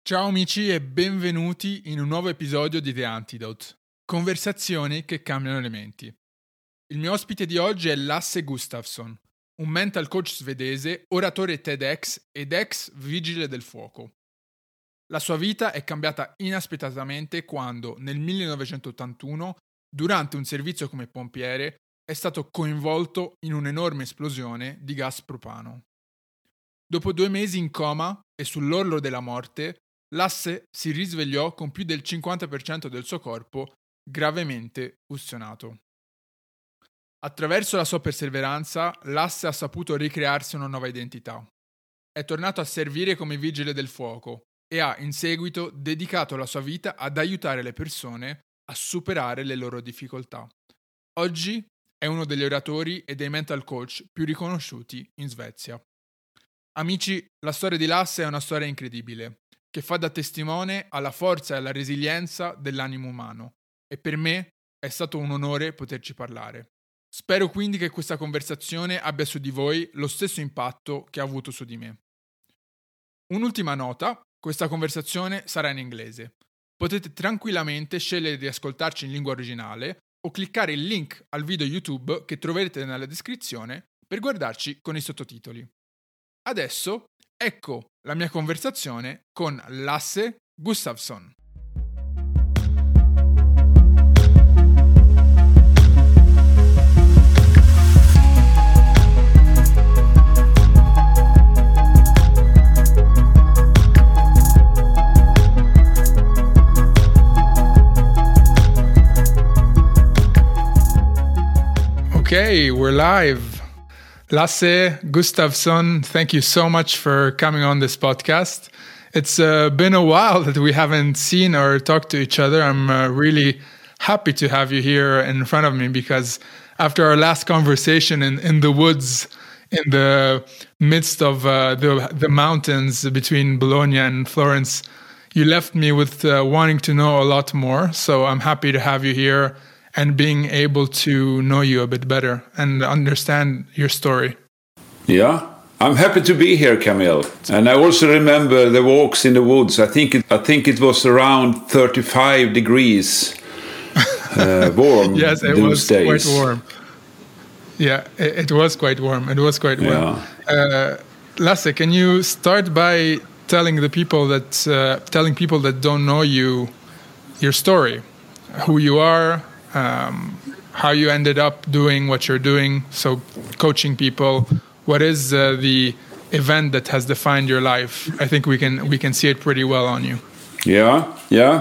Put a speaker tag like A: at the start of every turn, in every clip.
A: Ciao amici e benvenuti in un nuovo episodio di The Antidote, conversazioni che cambiano le menti. Il mio ospite di oggi è Lasse Gustafsson, un mental coach svedese, oratore TEDx ed ex vigile del fuoco. La sua vita è cambiata inaspettatamente quando, nel 1981, durante un servizio come pompiere, è stato coinvolto in un'enorme esplosione di gas propano. Dopo 2 mesi in coma e sull'orlo della morte, Lasse si risvegliò con più del 50% del suo corpo gravemente ustionato. Attraverso la sua perseveranza, Lasse ha saputo ricrearsi una nuova identità. È tornato a servire come vigile del fuoco e ha, in seguito, dedicato la sua vita ad aiutare le persone a superare le loro difficoltà. Oggi è uno degli oratori e dei mental coach più riconosciuti in Svezia. Amici, la storia di Lasse è una storia incredibile, che fa da testimone alla forza e alla resilienza dell'animo umano, e per me è stato un onore poterci parlare. Spero quindi che questa conversazione abbia su di voi lo stesso impatto che ha avuto su di me. Un'ultima nota, questa conversazione sarà in inglese. Potete tranquillamente scegliere di ascoltarci in lingua originale o cliccare il link al video YouTube che troverete nella descrizione per guardarci con i sottotitoli. Adesso, ecco la mia conversazione con Lasse Gustafsson. Okay, we're live. Lasse Gustafsson, thank you so much for coming on this podcast. It's been a while that we haven't seen or talked to each other. I'm really happy to have you here in front of me because after our last conversation in the woods, in the midst of the mountains between Bologna and Florence, you left me with wanting to know a lot more. So I'm happy to have you here and being able to know you a bit better and understand your story.
B: Yeah, I'm happy to be here, Camille. And I also remember the walks in the woods. I think it was around 35 degrees warm.
A: Yes, it was
B: days.
A: Quite warm. Yeah, it was quite warm. It was quite warm. Yeah. Lasse, can you start by telling people that don't know you, your story, who you are, how you ended up doing what you're doing, so coaching people. What is the event that has defined your life? I think we can see it pretty well on you.
B: Yeah.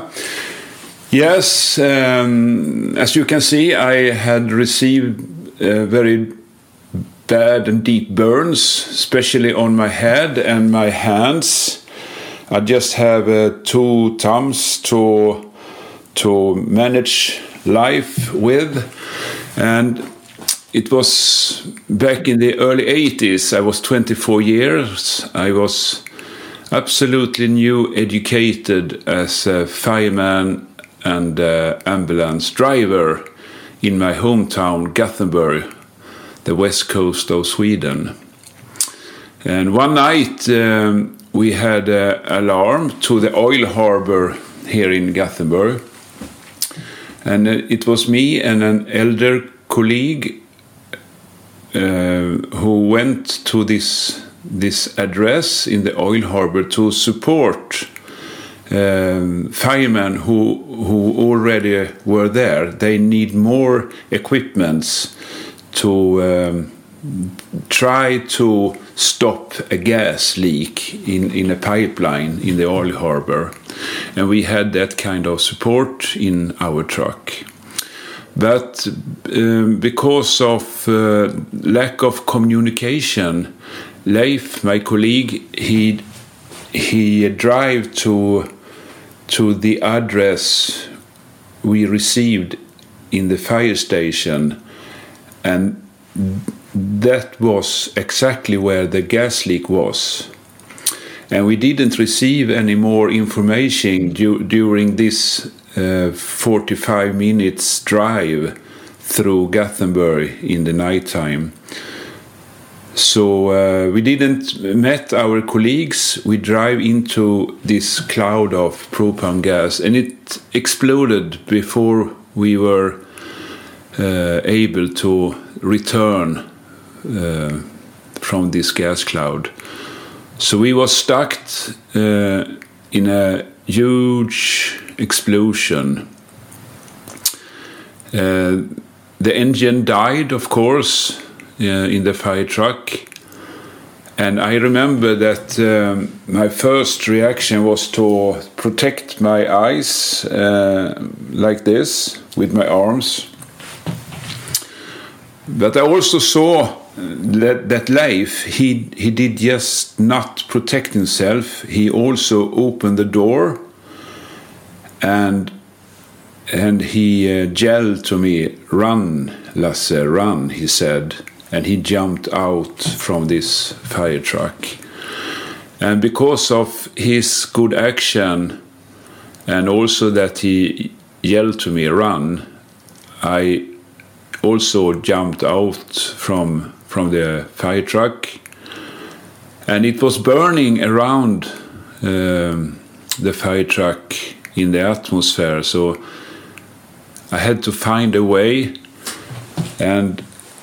B: Yes, as you can see, I had received very bad and deep burns, especially on my head and my hands. I just have 2 thumbs to manage life with, and it was back in the early 80s. I was 24 years. I was absolutely new educated as a fireman and ambulance driver in my hometown Gothenburg, the west coast of Sweden. And one night we had an alarm to the oil harbor here in Gothenburg. And it was me and an elder colleague who went to this address in the oil harbor to support firemen who already were there. They need more equipments to try to stop a gas leak in a pipeline in the oil harbor. And we had that kind of support in our truck. But because of lack of communication, Leif, my colleague, he drive to the address we received in the fire station, and that was exactly where the gas leak was. And we didn't receive any more information during this 45 minutes drive through Gothenburg in the nighttime. So we didn't met our colleagues. We drive into this cloud of propane gas, and it exploded before we were able to return from this gas cloud. So we were stuck in a huge explosion. The engine died, of course, in the fire truck. And I remember that my first reaction was to protect my eyes like this with my arms. But I also saw that Leif, he did just not protect himself. He also opened the door and he yelled to me, "Run, Lasse, run," he said. And he jumped out from this fire truck. And because of his good action and also that he yelled to me, "Run," I also jumped out from the fire truck. And it was burning around the fire truck in the atmosphere. So I had to find a way, and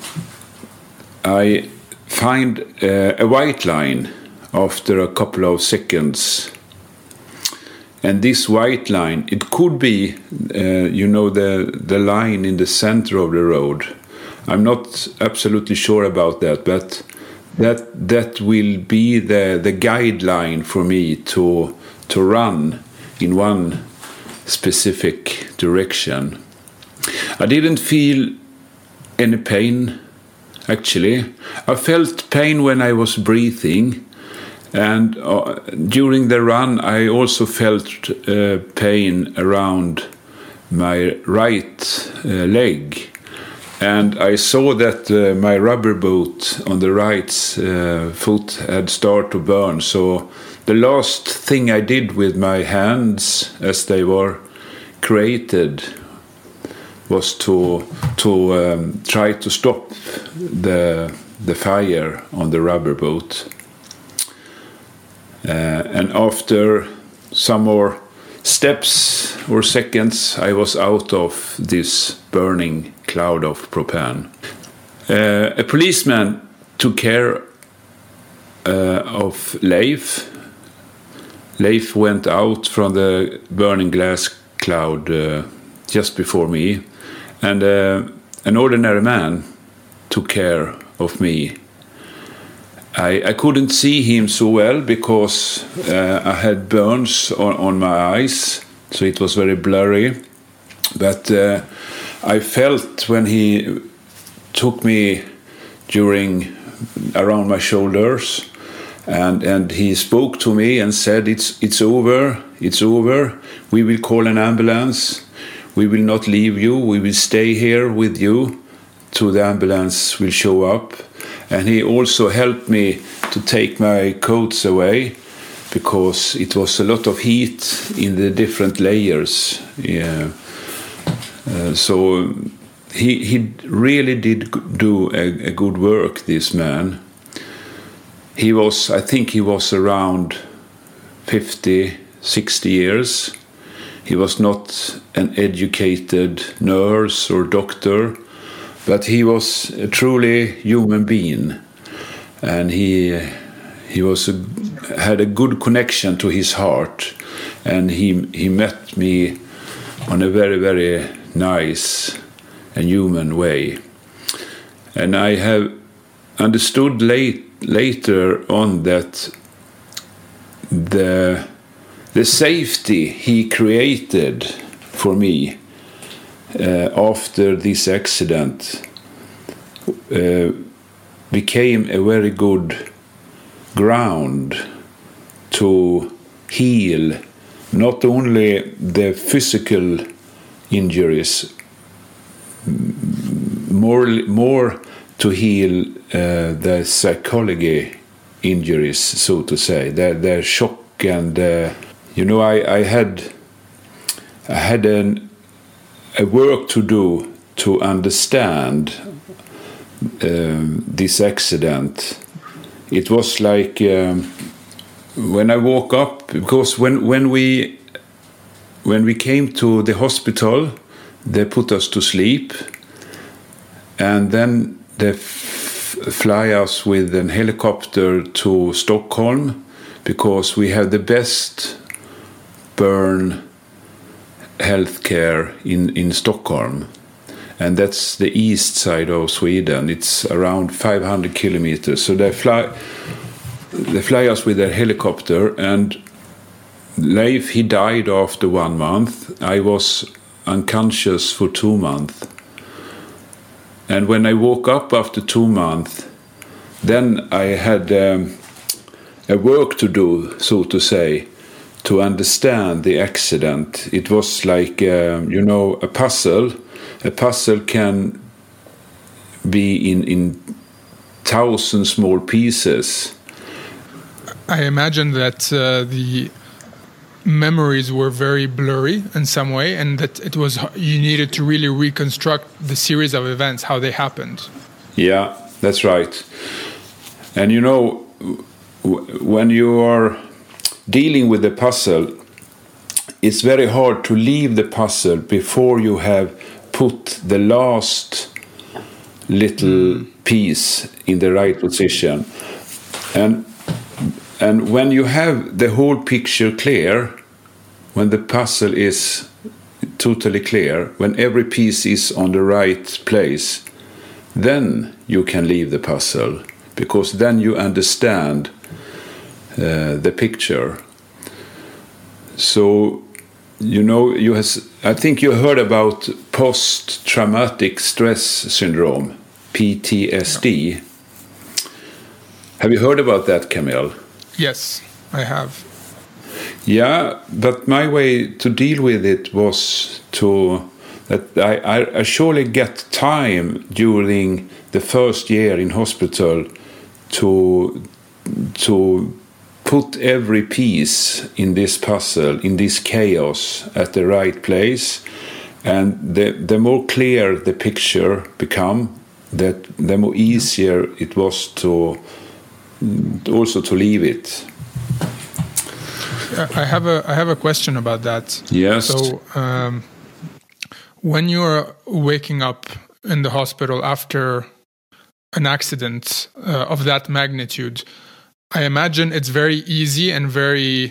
B: I find a white line after a couple of seconds. And this white line, it could be, the line in the center of the road. I'm not absolutely sure about that, but that will be the guideline for me to run in one specific direction. I didn't feel any pain, actually. I felt pain when I was breathing, and during the run I also felt pain around my right leg. And I saw that my rubber boot on the right foot had started to burn. So the last thing I did with my hands, as they were created, was to try to stop the fire on the rubber boot. And after some more steps or seconds, I was out of this burning cloud of propane. A policeman took care of Leif. Leif went out from the burning glass cloud just before me, and an ordinary man took care of me. I couldn't see him so well because I had burns on my eyes, so it was very blurry. But I felt when he took me around my shoulders, and he spoke to me and said, "It's over. We will call an ambulance. We will not leave you. We will stay here with you till the ambulance will show up." And he also helped me to take my coats away because it was a lot of heat in the different layers. Yeah. So he really did do a good work, this man. I think he was around 50, 60 years. He was not an educated nurse or doctor, but he was a truly human being, and he had a good connection to his heart, and he met me on a very, very nice and human way. And I have understood later on that the safety he created for me after this accident became a very good ground to heal not only the physical injuries, more to heal the psychology injuries, so to say, the shock. And I had a work to do to understand this accident it was like when I woke up, because when we came to the hospital, they put us to sleep, and then they fly us with a helicopter to Stockholm, because we have the best burn healthcare in Stockholm, and that's the east side of Sweden. It's around 500 kilometers. So they fly us with a helicopter, and Leif, he died after 1 month. I was unconscious for 2 months. And when I woke up after 2 months, then I had a work to do, so to say, to understand the accident. It was like, a puzzle. A puzzle can be in 1,000 small pieces.
A: I imagine that the memories were very blurry in some way, and that you needed to really reconstruct the series of events, how they happened.
B: Yeah, that's right. And when you are dealing with the puzzle, it's very hard to leave the puzzle before you have put the last little piece in the right position. And when you have the whole picture clear, when the puzzle is totally clear, when every piece is on the right place, then you can leave the puzzle, because then you understand the picture. So, I think you heard about post-traumatic stress syndrome, PTSD. Have you heard about that, Camille?
A: Yes, I have.
B: Yeah, but my way to deal with it was that I surely get time during the first year in hospital to put every piece in this puzzle, in this chaos, at the right place. And the more clear the picture become, the more easier it was to leave it.
A: I have a question about that.
B: Yes.
A: So, when you're waking up in the hospital after an accident of that magnitude, I imagine it's very easy and very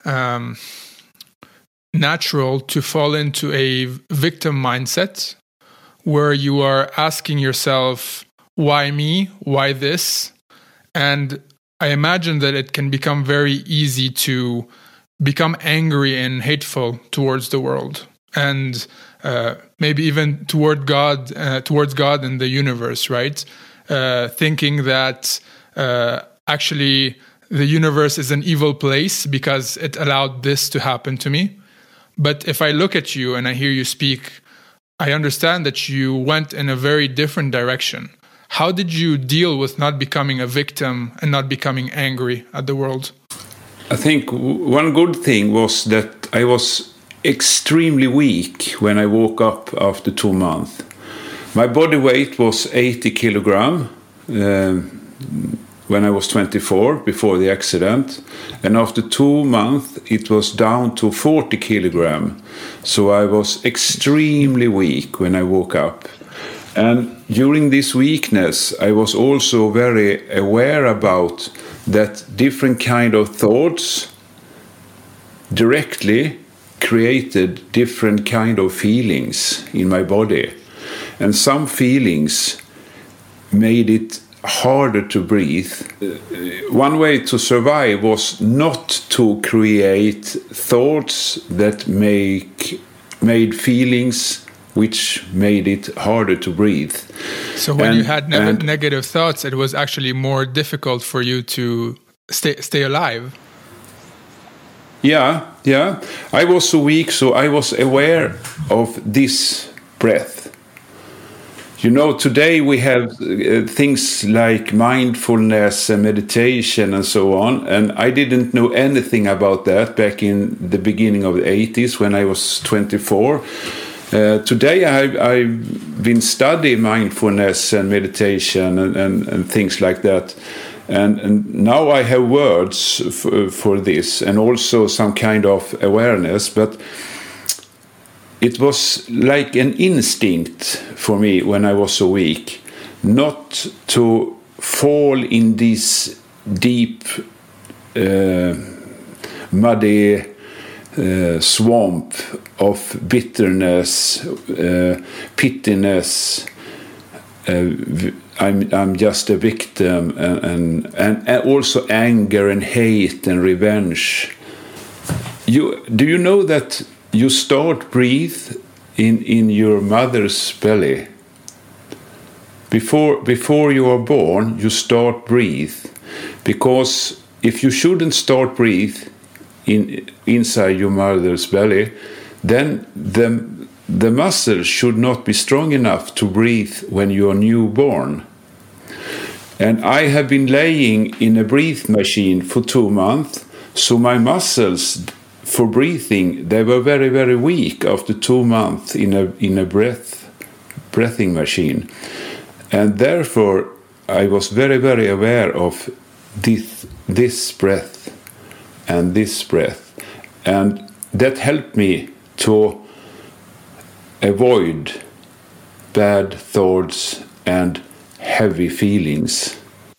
A: natural to fall into a victim mindset, where you are asking yourself, why me? Why this? And I imagine that it can become very easy to become angry and hateful towards the world, and maybe even towards God and the universe, right? Thinking that actually the universe is an evil place because it allowed this to happen to me. But if I look at you and I hear you speak, I understand that you went in a very different direction. How did you deal with not becoming a victim and not becoming angry at the world?
B: I think one good thing was that I was extremely weak when I woke up after 2 months. My body weight was 80 kilograms when I was 24, before the accident. And after 2 months, it was down to 40 kilograms. So I was extremely weak when I woke up. And during this weakness, I was also very aware about that different kind of thoughts directly created different kind of feelings in my body. And some feelings made it harder to breathe. One way to survive was not to create thoughts that made feelings which made it harder to breathe.
A: So when you had negative thoughts, it was actually more difficult for you to stay alive.
B: Yeah. I was so weak, so I was aware of this breath. Today we have things like mindfulness and meditation and so on, and I didn't know anything about that back in the beginning of the 80s when I was 24. Today I've been studying mindfulness and meditation and things like that. And now I have words for this, and also some kind of awareness, but it was like an instinct for me when I was so weak, not to fall in this deep, muddy swamp of bitterness, pittiness. I'm just a victim, and also anger and hate and revenge. Do you know that you start breathe in your mother's belly? Before you are born, you start breathe, because if you shouldn't start breathe inside your mother's belly, then the muscles should not be strong enough to breathe when you are newborn. And I have been laying in a breath machine for 2 months, so my muscles for breathing, they were very, very weak after 2 months in a breathing machine. And therefore I was very, very aware of this breath and this breath. And that helped me to avoid bad thoughts and heavy feelings.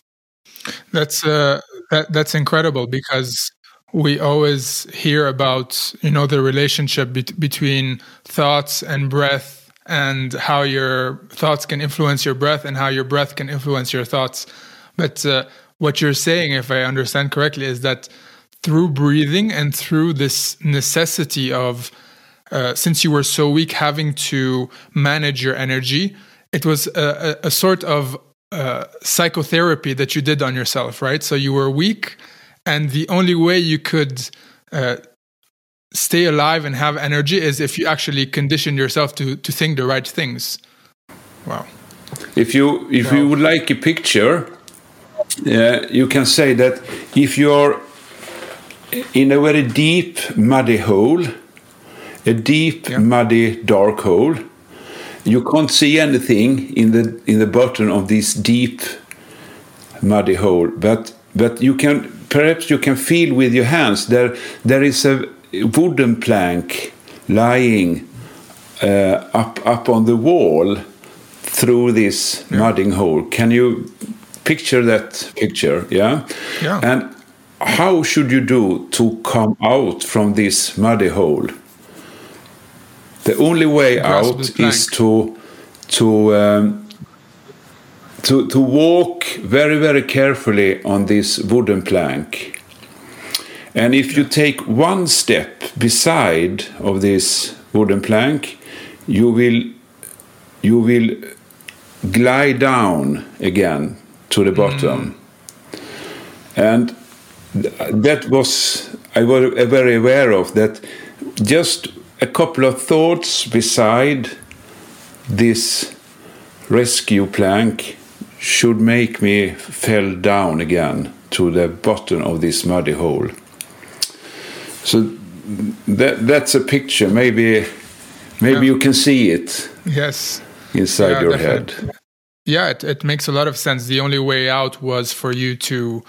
A: That's incredible, because we always hear about, the relationship between thoughts and breath, and how your thoughts can influence your breath and how your breath can influence your thoughts. But what you're saying, if I understand correctly, is that through breathing and through this necessity of since you were so weak, having to manage your energy, it was a sort of psychotherapy that you did on yourself, right? So you were weak, and the only way you could stay alive and have energy is if you actually conditioned yourself to think the right things. Wow.
B: If you would like a picture, you can say that if you're in a very deep, muddy hole, a deep, muddy, dark hole, you can't see anything in the bottom of this deep, muddy hole. But you can feel with your hands there is a wooden plank lying up on the wall through this mudding hole. Can you picture that picture? Yeah. And how should you do to come out from this muddy hole? The only way out is to walk very, very carefully on this wooden plank. And if you take one step beside of this wooden plank, you will glide down again to the bottom. And that was, I was very aware of that. Just a couple of thoughts beside this rescue plank should make me fall down again to the bottom of this muddy hole. So that's a picture. Maybe you can see it.
A: Yes.
B: Inside your head.
A: Yeah, it makes a lot of sense. The only way out was for you to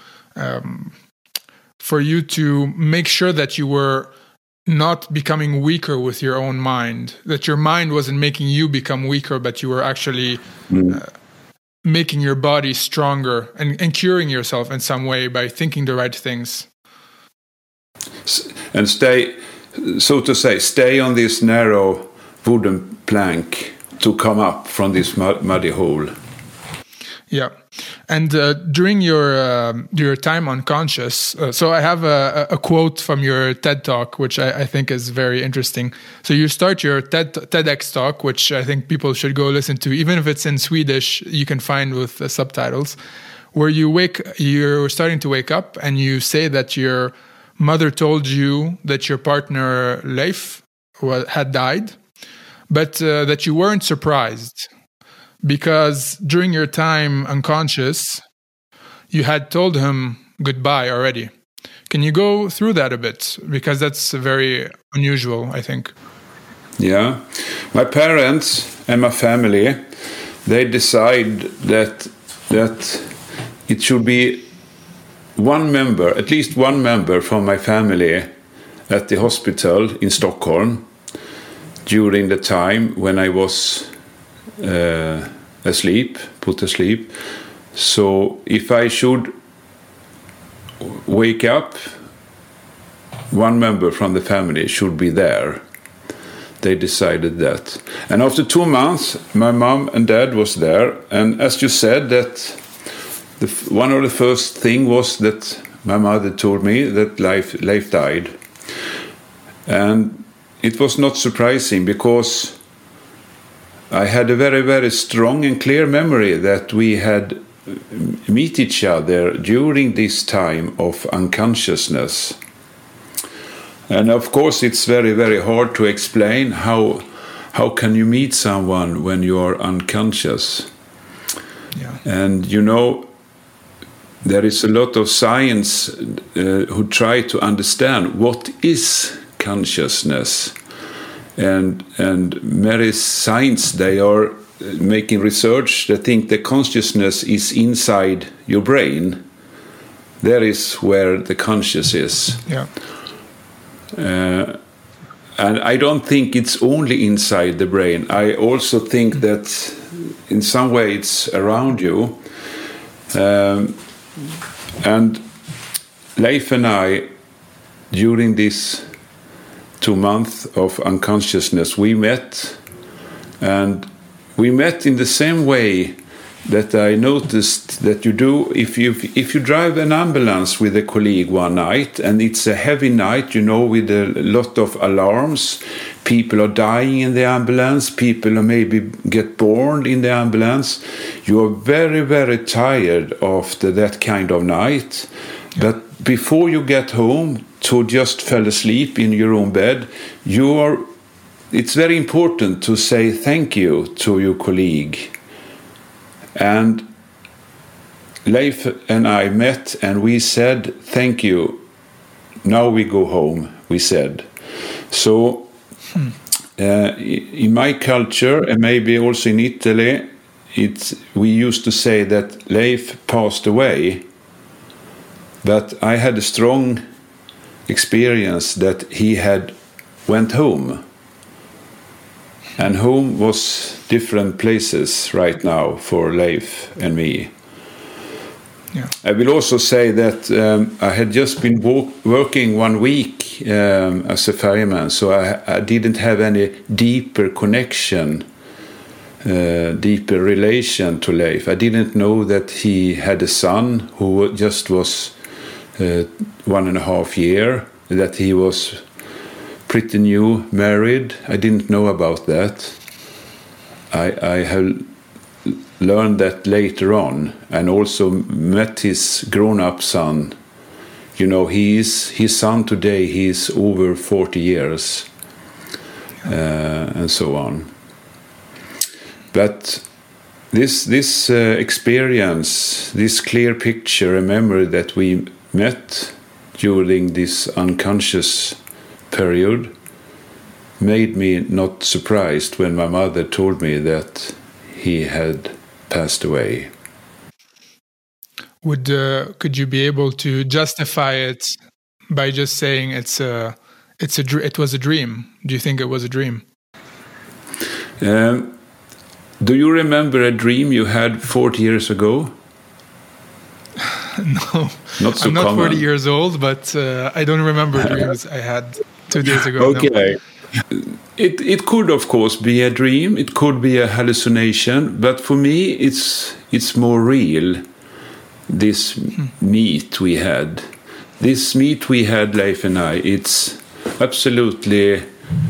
A: make sure that you were not becoming weaker with your own mind, that your mind wasn't making you become weaker, but you were actually making your body stronger and curing yourself in some way by thinking the right things.
B: And stay on this narrow wooden plank to come up from this muddy hole.
A: Yeah. And during your time unconscious, so I have a quote from your TED Talk, which I think is very interesting. So you start your TEDx talk, which I think people should go listen to, even if it's in Swedish, you can find with the subtitles, where you're starting to wake up, and you say that your mother told you that your partner Leif had died, but that you weren't surprised, because during your time unconscious, you had told him goodbye already. Can you go through that a bit? Because that's very unusual, I think.
B: Yeah. My parents and my family, they decide that it should be at least one member from my family at the hospital in Stockholm during the time when I was put asleep. So if I should wake up, one member from the family should be there. They decided that. And after 2 months, my mom and dad was there. And as you said, that one of the first thing was that my mother told me that Leif died. And it was not surprising, because I had a very, very strong and clear memory that we had met each other during this time of unconsciousness. And of course, it's very, very hard to explain how can you meet someone when you are unconscious.
A: Yeah.
B: And there is a lot of science who try to understand what is consciousness. And many science, they are making research that think the consciousness is inside your brain. There is where the conscious is.
A: Yeah.
B: And I don't think it's only inside the brain. I also think that in some way it's around you. And Leif and I, during this 2 months of unconsciousness, we met. And we met in the same way that I noticed that you do if you drive an ambulance with a colleague one night, and it's a heavy night, with a lot of alarms. People are dying in the ambulance. People are maybe get born in the ambulance. You are very, very tired after that kind of night. Yeah. But before you get home to just fall asleep in your own bed, it's very important to say thank you to your colleague. And Leif and I met, and we said, thank you. Now we go home, we said. So in my culture, and maybe also in Italy, we used to say that Leif passed away. But I had a strong experience that he had went home. And home was different places right now for Leif and me.
A: Yeah.
B: I will also say that I had just been working 1 week as a fireman, so I didn't have any deeper connection, deeper relation to Leif. I didn't know that he had a son who just was 1.5 years, that he was pretty new, married. I didn't know about that. I have learned that later on, and also met his grown-up son. His son today, he's over 40 years, and so on. But this experience, this clear picture, a memory that we met during this unconscious period, made me not surprised when my mother told me that he had passed away.
A: Could you be able to justify it by just saying it was a dream? Do you think it was a dream?
B: Do you remember a dream you had 40 years ago?
A: No,
B: not so
A: I'm not
B: common.
A: 40 years old, but I don't remember dreams I had 2 days ago.
B: Okay. No. It could, of course, be a dream. It could be a hallucination. But for me, it's more real, this meet we had. This meet we had, Leif and I, it's absolutely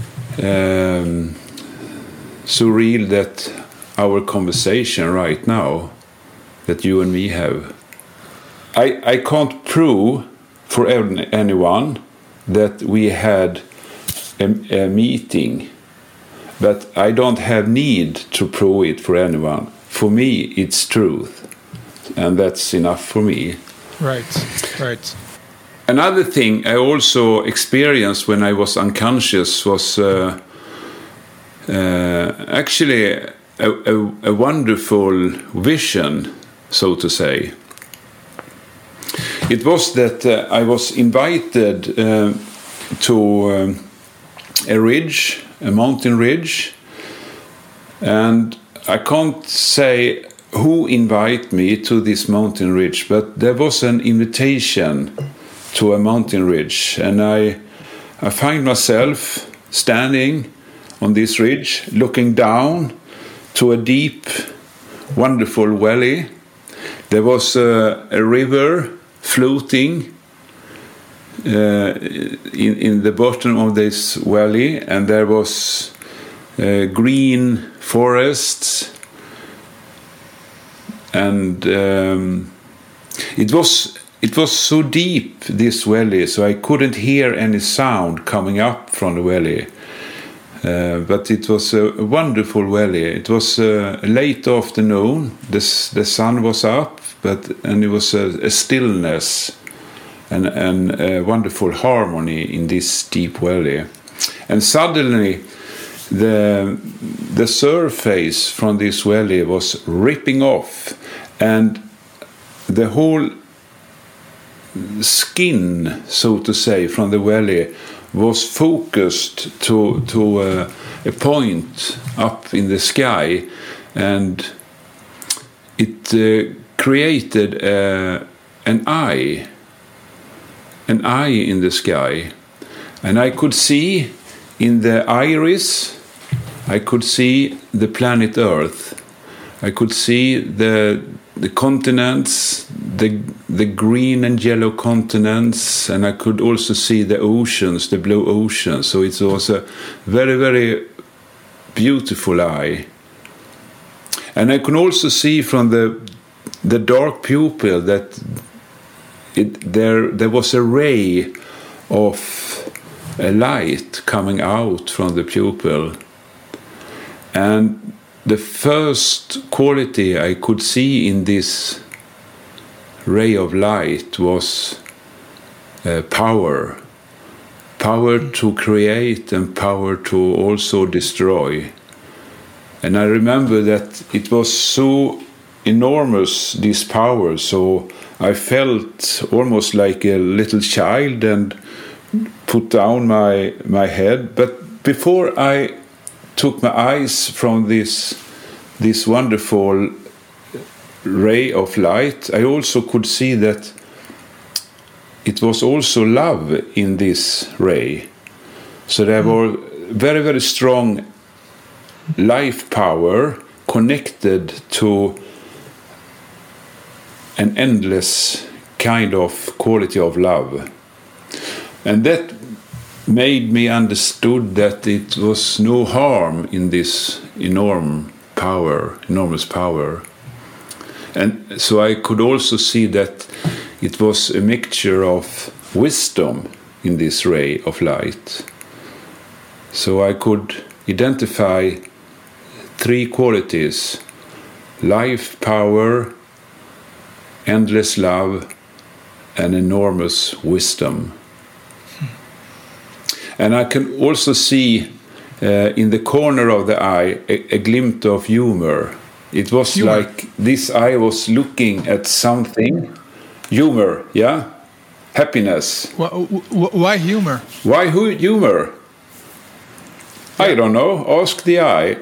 B: surreal that our conversation right now, that you and me have. I can't prove for anyone that we had a meeting, but I don't have need to prove it for anyone. For me, it's truth, and that's enough for me.
A: Right.
B: Another thing I also experienced when I was unconscious was actually a wonderful vision, so to say. It was that I was invited to a mountain ridge, and I can't say who invited me to this mountain ridge, but there was an invitation to a mountain ridge, and I find myself standing on this ridge, looking down to a deep, wonderful valley. There was a river floating in the bottom of this valley, and there was green forests, and it was so deep, this valley, so I couldn't hear any sound coming up from the valley. But it was a wonderful valley. It was late afternoon. The sun was up, and it was a stillness and a wonderful harmony in this deep valley. And suddenly, the surface from this valley was ripping off, and the whole skin, so to say, from the valley was focused to a point up in the sky, and it created an eye in the sky, and I could see in the iris, I could see the planet Earth. I could see the continents, the green and yellow continents, and I could also see the oceans, the blue oceans. So it was a very, very beautiful eye. And I could also see from the dark pupil that there was a ray of a light coming out from the pupil. And the first quality I could see in this ray of light was power to create and power to also destroy. And I remember that it was so enormous, this power, so I felt almost like a little child and put down my head. But before I took my eyes from this wonderful ray of light, I also could see that it was also love in this ray. So there were very, very strong life power connected to an endless kind of quality of love. And that made me understood that it was no harm in this enormous power. And so I could also see that it was a mixture of wisdom in this ray of light. So I could identify three qualities: life power, endless love, and enormous wisdom. And I can also see in the corner of the eye a glimpse of humor. It was like this eye was looking at something. Humor, yeah? Happiness.
A: Why humor?
B: Why humor? I don't know. Ask the eye.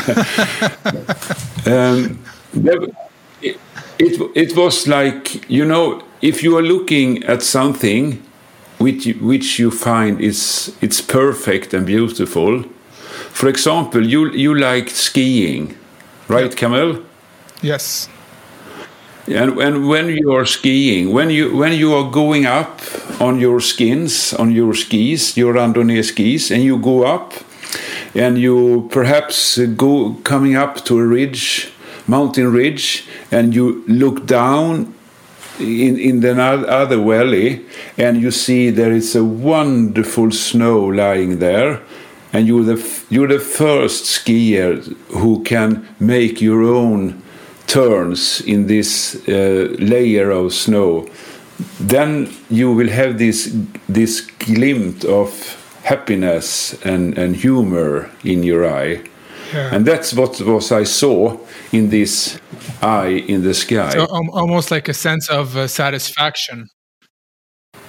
B: It was like, if you are looking at something which you find it's perfect and beautiful. For example, you like skiing, right, Camille?
A: Yes.
B: And when you are skiing, when you are going up on your skis, your randonnée skis, and you go up, and you perhaps coming up to a mountain ridge, and you look down in the other valley, and you see there is a wonderful snow lying there, and you're the first skier who can make your own turns in this layer of snow. Then you will have this glimpse of happiness and humor in your eye. Yeah. And that's what I saw in this eye in the sky.
A: So almost like a sense of satisfaction.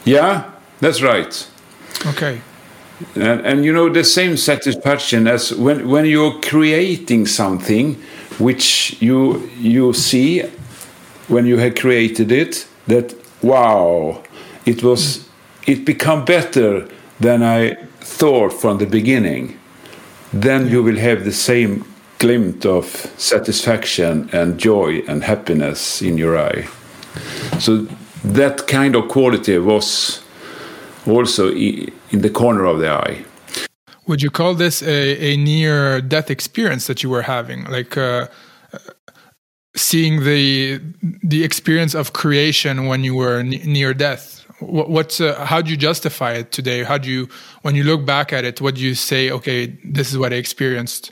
B: Yeah, that's right.
A: Okay.
B: And you know, the same satisfaction as when you're creating something which you see when you have created it, that wow, it become better than I thought from the beginning. Then you will have the same glint of satisfaction and joy and happiness in your eye. So that kind of quality was also in the corner of the eye.
A: Would you call this a near-death experience that you were having, like seeing the experience of creation when you were near death? How do you justify it today? When you look back at it, what do you say? Okay, this is what I experienced.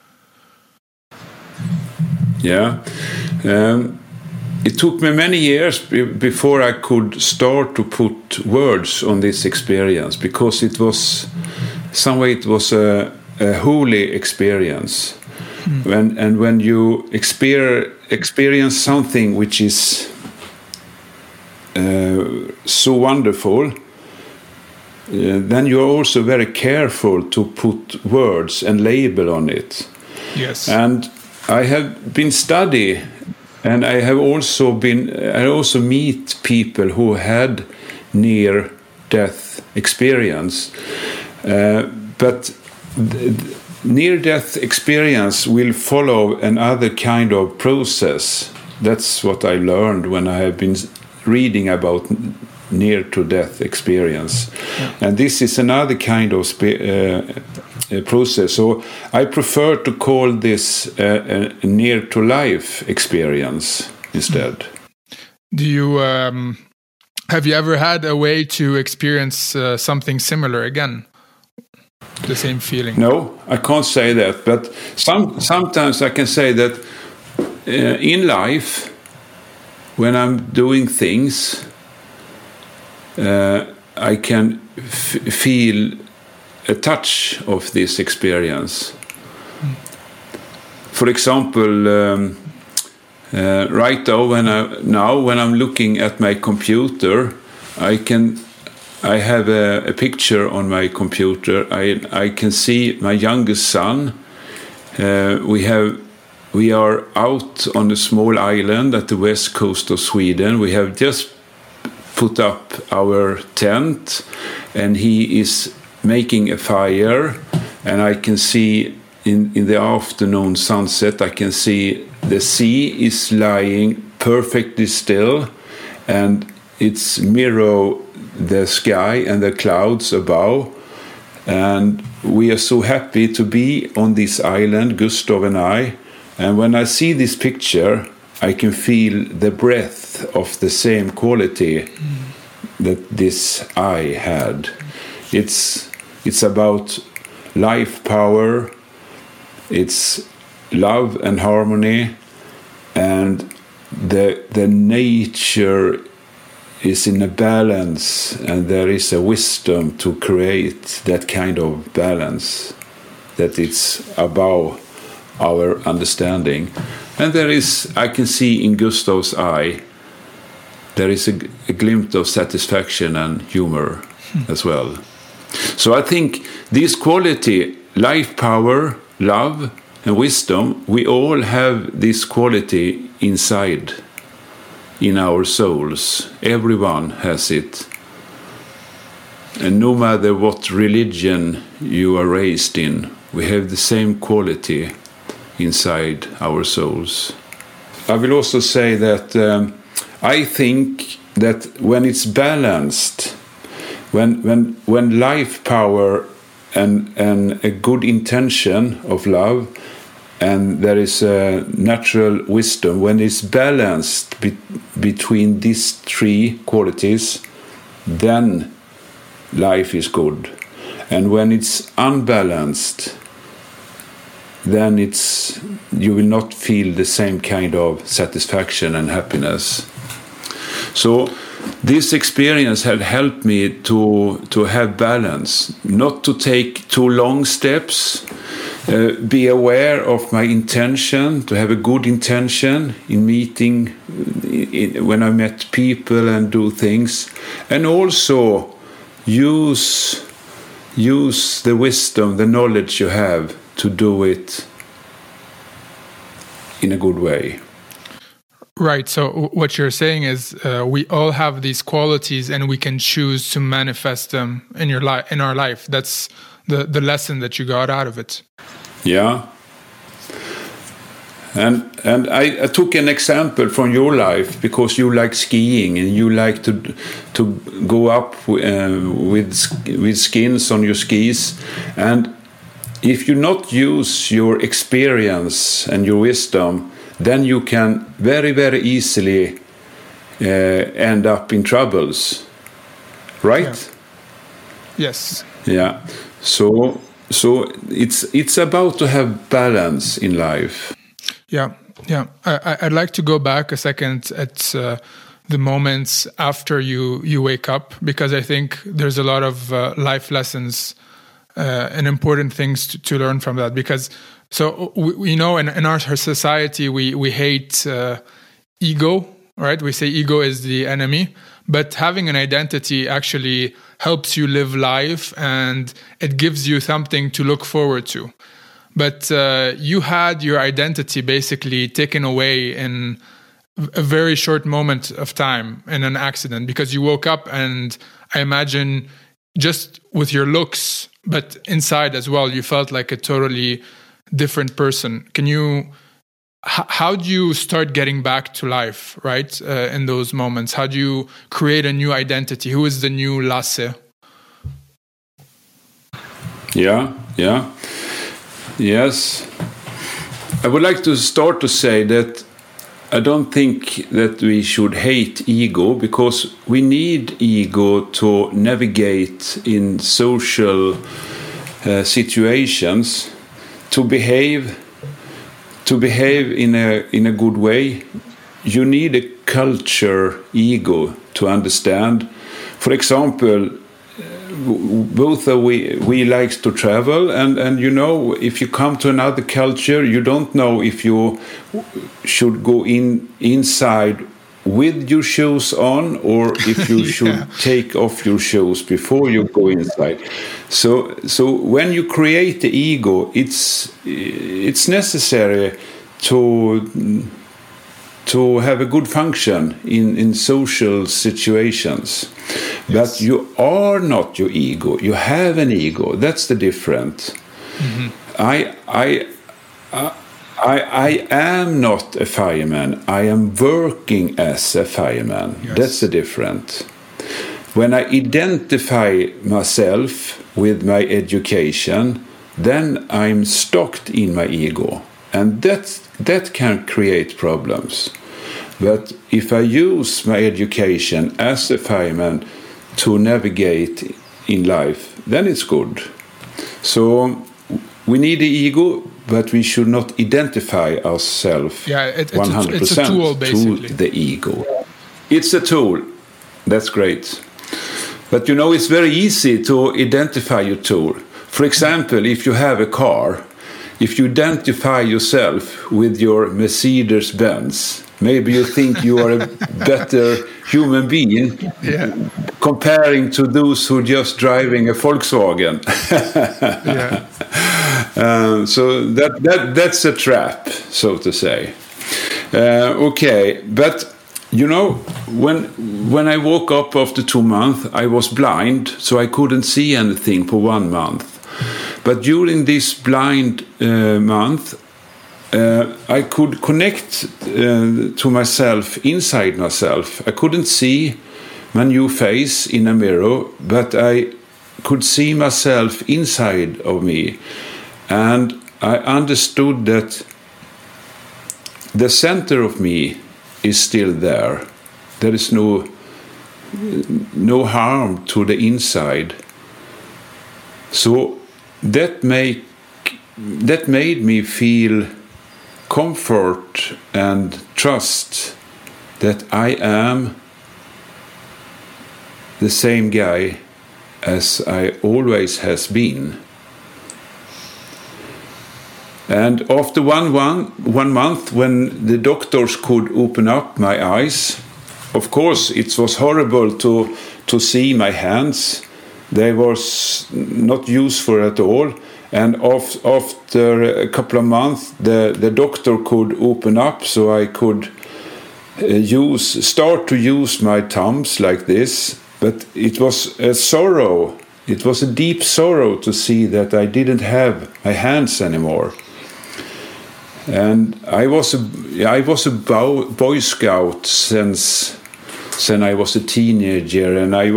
B: Yeah. It took me many years before I could start to put words on this experience, because it was a holy experience. When you experience something which is so wonderful, then you are also very careful to put words and label on it.
A: Yes.
B: And I have been studying. And I also meet people who had near-death experience. But near-death experience will follow another kind of process. That's what I learned when I have been reading about near-to-death experience. Yeah. And this is another kind of process. So I prefer to call this a near-to-life experience instead.
A: Do you have you ever had a way to experience something similar again? The same feeling?
B: No, I can't say that. But sometimes I can say that in life, when I'm doing things, I can feel a touch of this experience. For example, right now when I'm looking at my computer, I have a picture on my computer. I can see my youngest son. We are out on a small island at the west coast of Sweden. We have just put up our tent, and he is making a fire, and I can see in the afternoon sunset, I can see the sea is lying perfectly still, and it's mirror the sky and the clouds above, and we are so happy to be on this island, Gustav and I. And when I see this picture, I can feel the breath of the same quality that this eye had. It's about life power, it's love and harmony, and the nature is in a balance, and there is a wisdom to create that kind of balance, that it's above our understanding. And I can see in Gustav's eye, there is a glimpse of satisfaction and humor as well. So I think this quality, life power, love and wisdom, we all have this quality inside, in our souls. Everyone has it. And no matter what religion you are raised in, we have the same quality inside our souls. I will also say that I think that when it's balanced, when life power and a good intention of love, and there is a natural wisdom, when it's balanced between these three qualities, then life is good. And when it's unbalanced, then you will not feel the same kind of satisfaction and happiness. So this experience had helped me to have balance, not to take too long steps, be aware of my intention, to have a good intention in meeting, when I met people and do things, and also use the wisdom, the knowledge you have to do it in a good way.
A: Right. So what you're saying is we all have these qualities, and we can choose to manifest them in our life. That's the lesson that you got out of it.
B: Yeah. And I took an example from your life, because you like skiing and you like to go up with skins on your skis. And if you not use your experience and your wisdom, then you can very, very easily end up in troubles, right?
A: Yeah. Yes.
B: Yeah. So it's about to have balance in life.
A: Yeah. I'd like to go back a second at the moments after you wake up, because I think there's a lot of life lessons and important things to learn from that. Because we know in our society we hate ego, right? We say ego is the enemy, but having an identity actually helps you live life, and it gives you something to look forward to. But you had your identity basically taken away in a very short moment of time in an accident, because you woke up, and I imagine just with your looks, but inside as well, you felt like a totally different person. How do you start getting back to life, right? In those moments, how do you create a new identity? Who is the new Lasse?
B: Yeah. Yes. I would like to start to say that I don't think that we should hate ego, because we need ego to navigate in social situations, to behave in a good way. You need a culture ego to understand. For example, both we like to travel, and if you come to another culture, you don't know if you should go inside with your shoes on, or if you should take off your shoes before you go inside. So when you create the ego, it's necessary to have a good function in social situations. Yes. But you are not your ego. You have an ego. That's the difference. Mm-hmm. I am not a fireman. I am working as a fireman. Yes. That's the difference. When I identify myself with my education, then I'm stuck in my ego. And that can create problems. But if I use my education as a fireman to navigate in life, then it's good. So we need the ego, but we should not identify ourselves 100%
A: it's a tool, basically.
B: To the ego. It's a tool. That's great. But it's very easy to identify your tool. For example, if you have a car, if you identify yourself with your Mercedes-Benz, maybe you think you are a better human being comparing to those who are just driving a Volkswagen. So that's a trap, so to say. Okay, but when I woke up after 2 months, I was blind, so I couldn't see anything for 1 month. But during this blind month, I could connect to myself, inside myself. I couldn't see my new face in a mirror, but I could see myself inside of me. And I understood that the center of me is still there. There is no harm to the inside. So that made me feel comfort and trust that I am the same guy as I always has been. And after one month, when the doctors could open up my eyes, of course, it was horrible to see my hands. They was not useful at all. And after a couple of months, the doctor could open up, so I could start to use my thumbs like this. But it was a sorrow. It was a deep sorrow to see that I didn't have my hands anymore. And I was a Boy Scout since I was a teenager, and I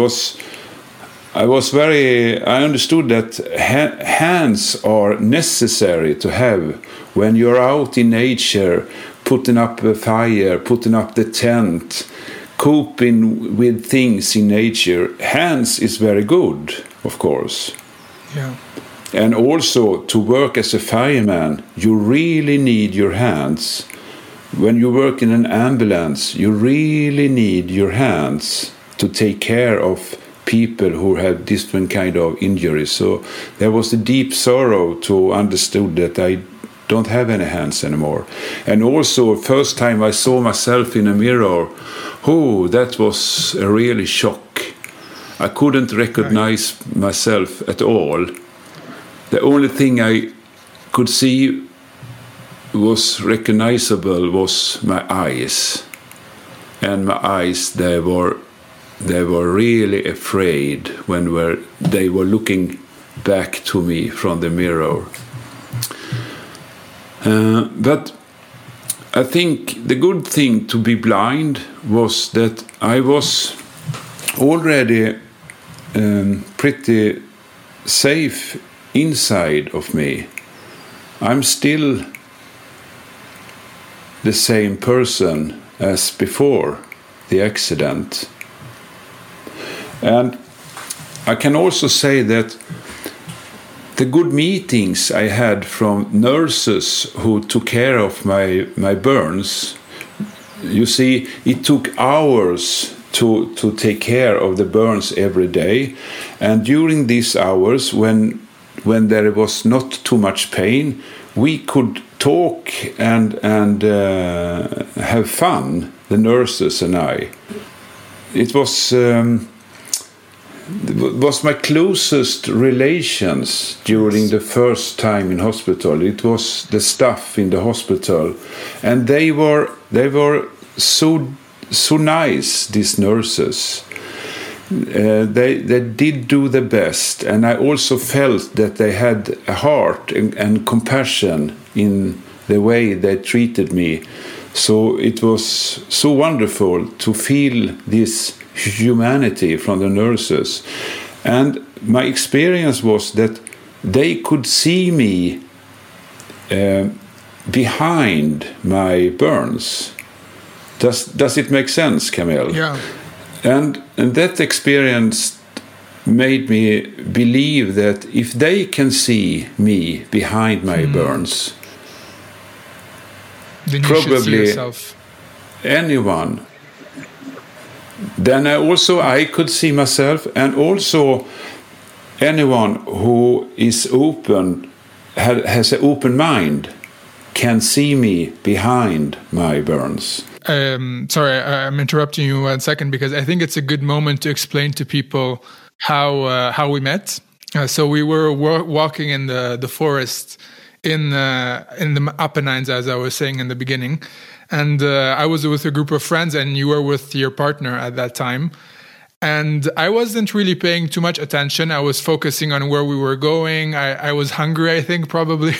B: understood that hands are necessary to have when you're out in nature, putting up a fire, putting up the tent, coping with things in nature. Hands is very good, of course.
A: Yeah.
B: And also, to work as a fireman, you really need your hands. When you work in an ambulance, you really need your hands to take care of people who have different kind of injuries. So there was a deep sorrow to understand that I don't have any hands anymore. And also, first time I saw myself in a mirror, that was a really shock. I couldn't recognize myself at all. The only thing I could see was recognizable was my eyes. And my eyes, they were really afraid when they were looking back to me from the mirror. But I think the good thing to be blind was that I was already pretty safe inside of me. I'm still the same person as before the accident. And I can also say that the good meetings I had from nurses who took care of my burns, you see, it took hours to take care of the burns every day. And during these hours, when there was not too much pain, we could talk and have fun, the nurses and I. It was my closest relations during the first time in hospital. It was the staff in the hospital, and they were so nice, these nurses. They did do the best, and I also felt that they had a heart and compassion in the way they treated me. So it was so wonderful to feel this humanity from the nurses. And my experience was that they could see me behind my burns. Does it make sense, Camille?
A: Yeah.
B: And that experience made me believe that if they can see me behind my burns,
A: then you
B: probably
A: should see yourself.
B: Anyone. Then I could see myself, and also anyone who is open, has an open mind, can see me behind my burns.
A: Sorry, I'm interrupting you 1 second because I think it's a good moment to explain to people how we met. So we were walking in the forest in the Apennines, as I was saying in the beginning, and I was with a group of friends, and you were with your partner at that time. And I wasn't really paying too much attention. I was focusing on where we were going. I was hungry, I think, probably.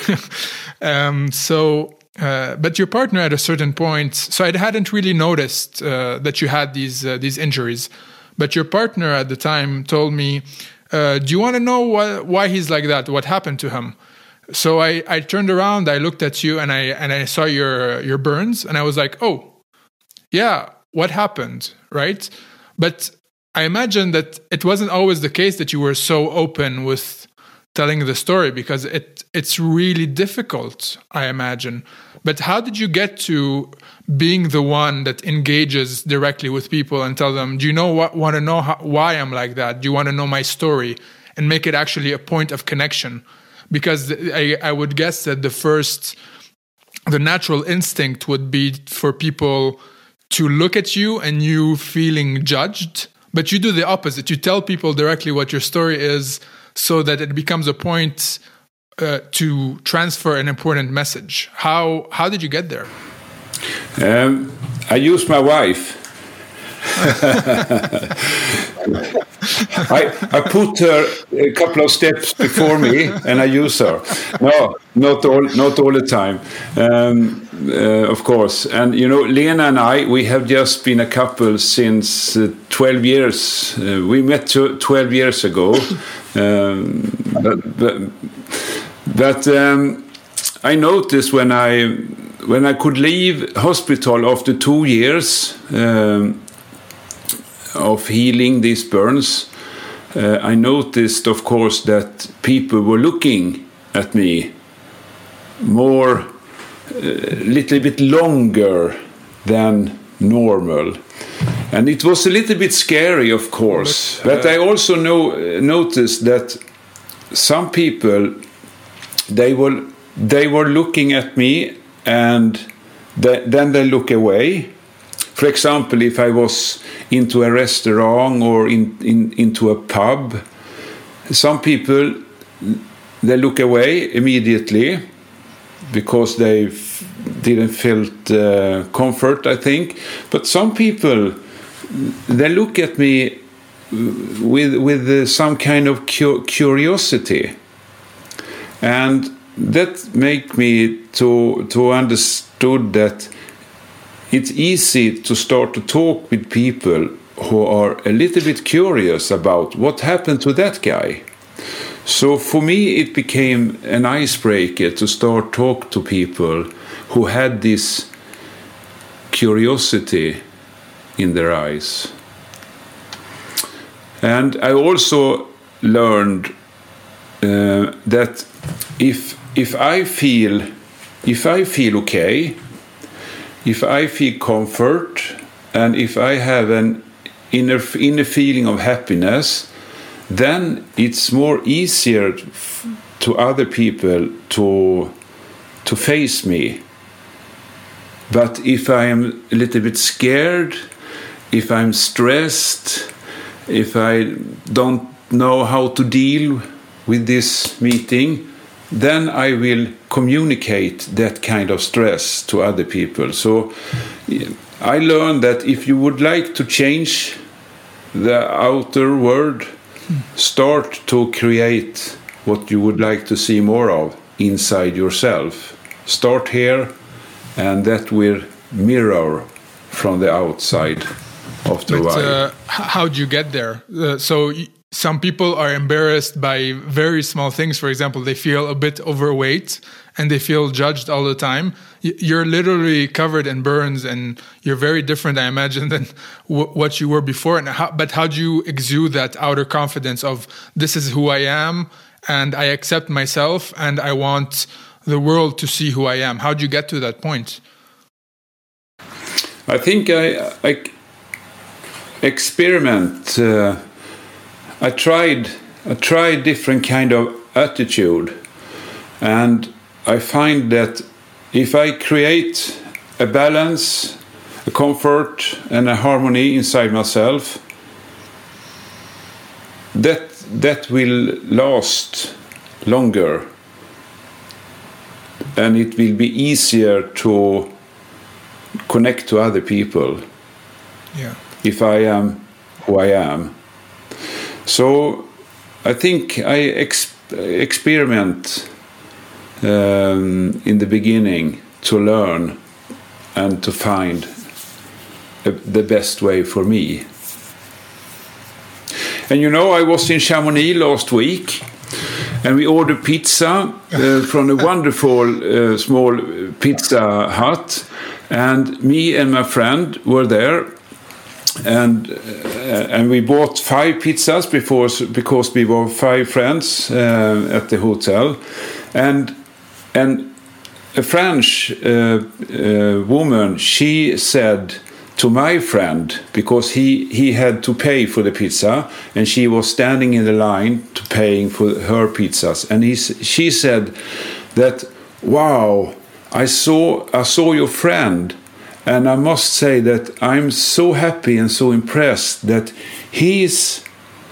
A: But your partner at a certain point, so I hadn't really noticed that you had these injuries. But your partner at the time told me, do you want to know why he's like that? What happened to him? So I turned around, I looked at you, and I saw your burns, and I was like, oh, yeah, what happened, right? But I imagine that it wasn't always the case that you were so open with telling the story, because it's really difficult, I imagine. But how did you get to being the one that engages directly with people and tell them, do you want to know why I'm like that? Do you want to know my story? And make it actually a point of connection? Because I would guess that the natural instinct would be for people to look at you and you feeling judged. But you do the opposite. You tell people directly what your story is so that it becomes a point to transfer an important message. How did you get there?
B: I used my wife. I put her a couple of steps before me, and I use her. No, not all the time, of course. And Lena and I, we have just been a couple since 12 years. We met 12 years ago, but I noticed when I could leave hospital after 2 years of healing these burns, I noticed, of course, that people were looking at me more, little bit longer than normal. And it was a little bit scary, of course. But I also noticed that some people, they were looking at me and then they look away. For example, if I was into a restaurant or into a pub, some people, they look away immediately because they didn't feel comfort, I think. But some people, they look at me with some kind of curiosity. And that make me to understood that it's easy to start to talk with people who are a little bit curious about what happened to that guy. So for me, it became an icebreaker to start talk to people who had this curiosity in their eyes. And I also learned that if I feel okay, if I feel comfort, and if I have an inner feeling of happiness, then it's more easier to other people to face me. But if I am a little bit scared, if I'm stressed, if I don't know how to deal with this meeting, then I will communicate that kind of stress to other people. So I learned that if you would like to change the outer world, start to create what you would like to see more of inside yourself. Start here, and that will mirror from the outside after a while.
A: How do you get there? Some people are embarrassed by very small things. For example, they feel a bit overweight and they feel judged all the time. You're literally covered in burns and you're very different, I imagine, than what you were before. But how do you exude that outer confidence of this is who I am and I accept myself and I want the world to see who I am? How do you get to that point?
B: I think I experiment. I tried different kind of attitude, and I find that if I create a balance, a comfort, and a harmony inside myself, that will last longer, and it will be easier to connect to other people.
A: Yeah.
B: If I am who I am. So I think I experiment in the beginning to learn and to find the best way for me. And I was in Chamonix last week and we ordered pizza from a wonderful small pizza hut, and me and my friend were there. And we bought 5 pizzas because we were 5 friends at the hotel, and a French woman, she said to my friend, because he had to pay for the pizza, and she was standing in the line to paying for her pizzas, and she said that, wow, I saw your friend, and I must say that I'm so happy and so impressed that he's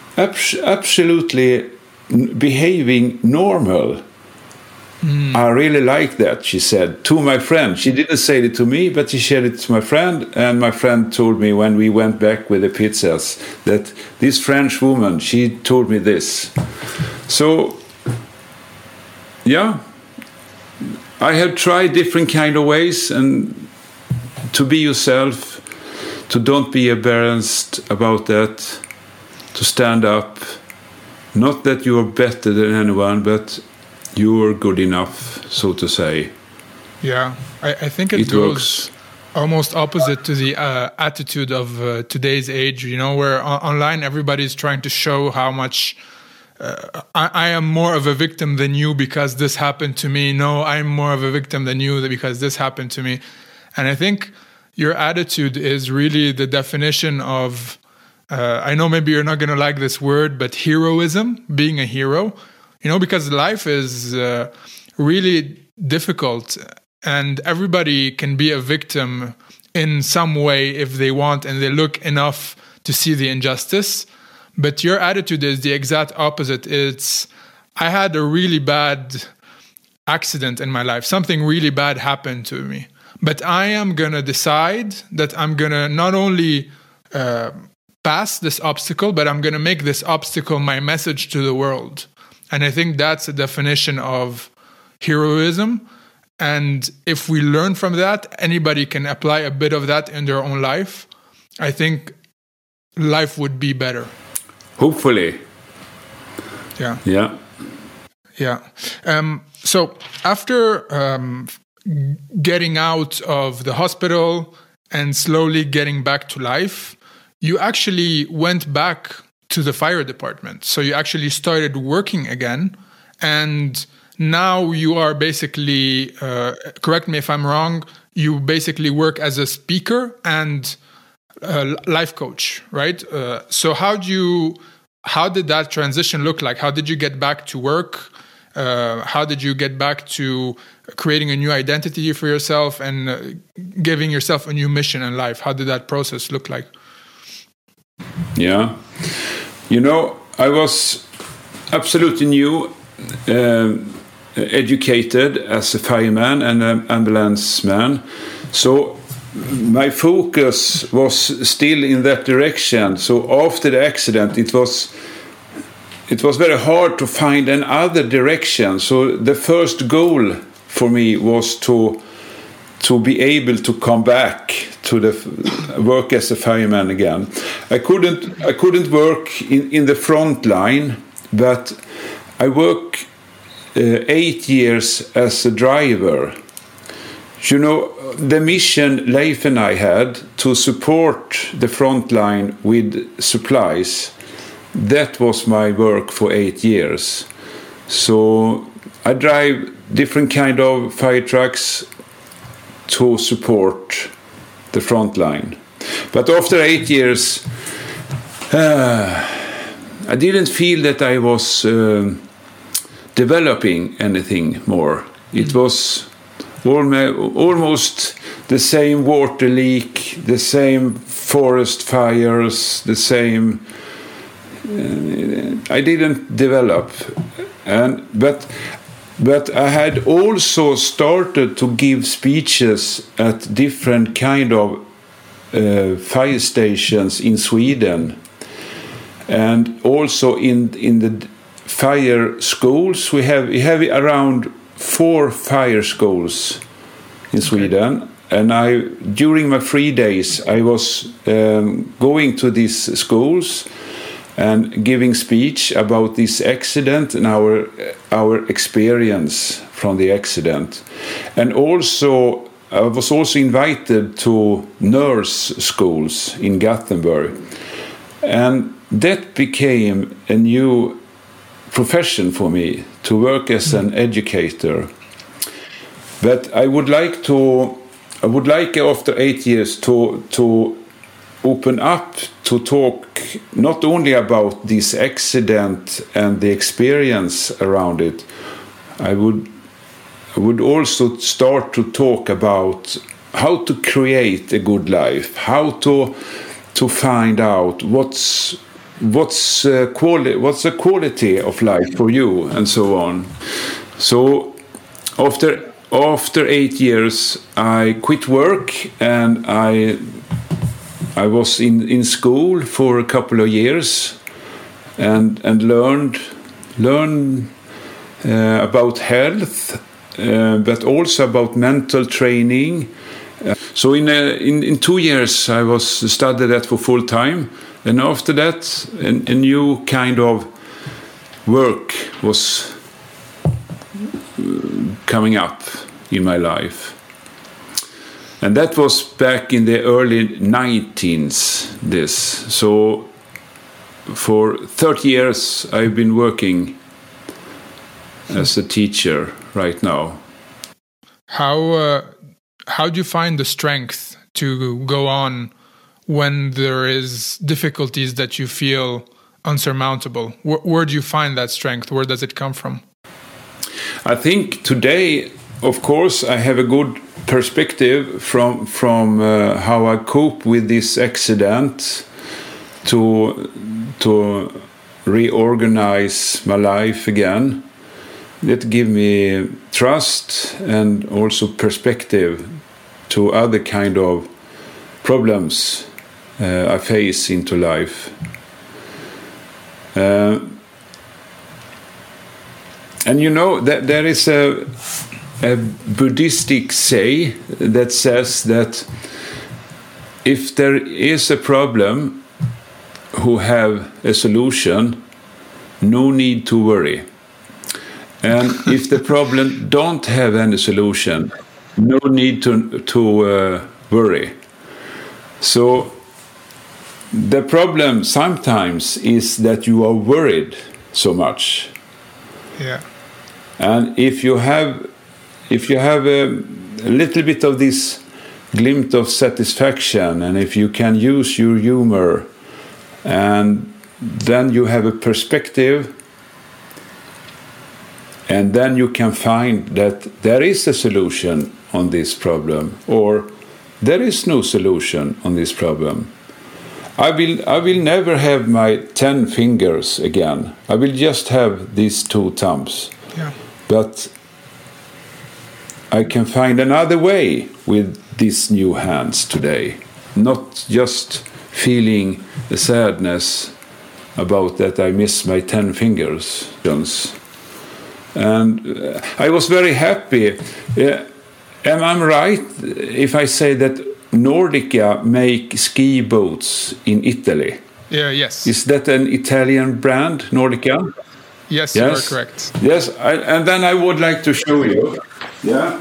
B: absolutely behaving normal. I really like that, she said, to my friend. She didn't say it to me, but she said it to my friend, and my friend told me when we went back with the pizzas that this French woman, she told me this. So, yeah, I have tried different kind of ways, and to be yourself, to don't be embarrassed about that, to stand up, not that you are better than anyone, but you are good enough, so to say.
A: Yeah, I think it goes almost opposite to the attitude of today's age, you know, where online everybody's trying to show how much I am more of a victim than you because this happened to me. No, I'm more of a victim than you because this happened to me. And I think your attitude is really the definition of, I know maybe you're not going to like this word, but heroism, being a hero. You know, because life is really difficult, and everybody can be a victim in some way if they want and they look enough to see the injustice. But your attitude is the exact opposite. It's, I had a really bad accident in my life. Something really bad happened to me. But I am going to decide that I'm going to not only pass this obstacle, but I'm going to make this obstacle my message to the world. And I think that's a definition of heroism. And if we learn from that, anybody can apply a bit of that in their own life. I think life would be better.
B: Hopefully.
A: Yeah.
B: Yeah.
A: Yeah. So after getting out of the hospital and slowly getting back to life, you actually went back to the fire department. So you actually started working again, and now you are basically, correct me if I'm wrong, you basically work as a speaker and life coach, right? So how did that transition look like? How did you get back to work? How did you get back to creating a new identity for yourself and giving yourself a new mission in life? How did that process look like?
B: Yeah. You know, I was absolutely new, educated as a fireman and an ambulance man. So my focus was still in that direction. So after the accident, it was very hard to find another direction. So the first goal for me was to be able to come back to the work as a fireman again. I couldn't work in the front line, but I worked 8 years as a driver. You know, the mission Leif and I had to support the front line with supplies, that was my work for 8 years. So I drive different kind of fire trucks to support the front line. But after 8 years, I didn't feel that I was developing anything more. It was almost the same water leak, the same forest fires, the same. I didn't develop, but I had also started to give speeches at different kind of fire stations in Sweden, and also in the fire schools. We have around 4 fire schools in Sweden, and during my free days I was going to these schools and giving speech about this accident and our experience from the accident. And also I was also invited to nurse schools in Gothenburg, and that became a new profession for me, to work as an educator. But I would like after 8 years to open up to talk not only about this accident and the experience around it. I would also start to talk about how to create a good life, how to find out what's the quality of life for you, and so on. So after 8 years, I quit work, and I was in school for a couple of years, and learned about health, but also about mental training. So in 2 years, I was studied that for full time, and after that, a new kind of work was coming up in my life. And that was back in the early 19s, this. So for 30 years, I've been working as a teacher right now.
A: How do you find the strength to go on when there is difficulties that you feel unsurmountable? Where do you find that strength? Where does it come from?
B: I think today, of course, I have a good perspective from how I cope with this accident to reorganize my life again. That give me trust and also perspective to other kind of problems I face into life. And you know that there is a Buddhistic say that says that if there is a problem who have a solution, no need to worry. And if the problem don't have any solution, no need to worry. So the problem sometimes is that you are worried so much.
A: Yeah.
B: And if you have a little bit of this glimpse of satisfaction, and if you can use your humor, and then you have a perspective, and then you can find that there is a solution on this problem, or there is no solution on this problem. I will never have my 10 fingers again. I will just have these 2 thumbs.
A: Yeah.
B: But I can find another way with these new hands today. Not just feeling the sadness about that I miss my 10 fingers. And I was very happy. Am I right if I say that Nordica make ski boots in Italy?
A: Yes.
B: Is that an Italian brand, Nordica?
A: Yes, you are correct.
B: Yes, and then I would like to show you. Yeah.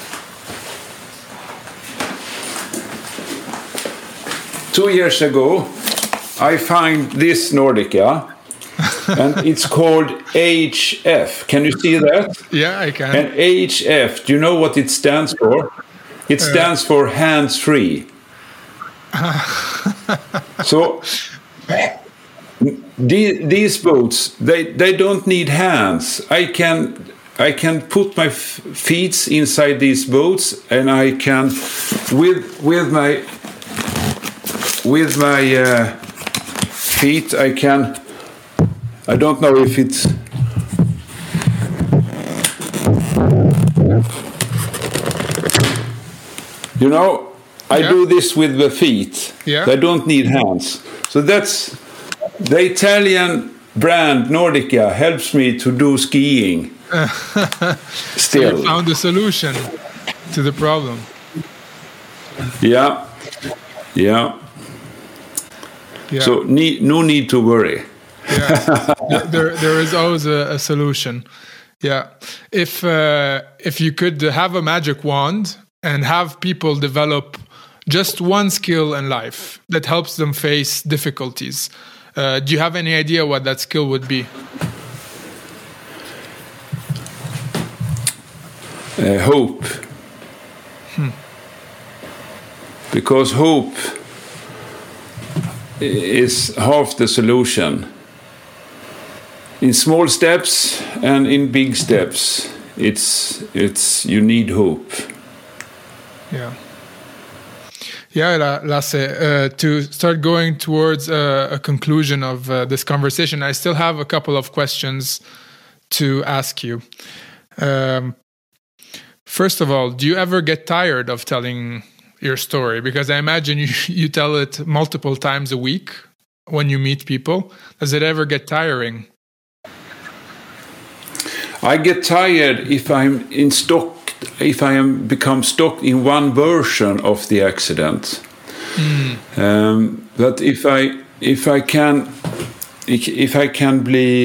B: Two years ago, I find this Nordica, and it's called HF. Can you see that?
A: Yeah, I can.
B: And HF, do you know what it stands for? It stands for hands-free. So these boots, they don't need hands. I can put my feet inside these boots, and I can with my feet I can. I don't know if it's. You know, I do this with the feet.
A: Yeah.
B: I don't need hands. So that's the Italian brand Nordica helps me to do skiing. Still.
A: So you found a solution to the problem.
B: Yeah. So no need to worry.
A: Yeah. there is always a solution. Yeah. If you could have a magic wand and have people develop just one skill in life that helps them face difficulties, do you have any idea what that skill would be?
B: Hope. Because hope is half the solution. In small steps and in big steps, it's you need hope.
A: Yeah, Lasse, to start going towards a conclusion of this conversation, I still have a couple of questions to ask you. First of all, do you ever get tired of telling your story? Because I imagine you tell it multiple times a week when you meet people. Does it ever get tiring?
B: I get tired if I'm in stock. If I am become stuck in one version of the accident. But if I can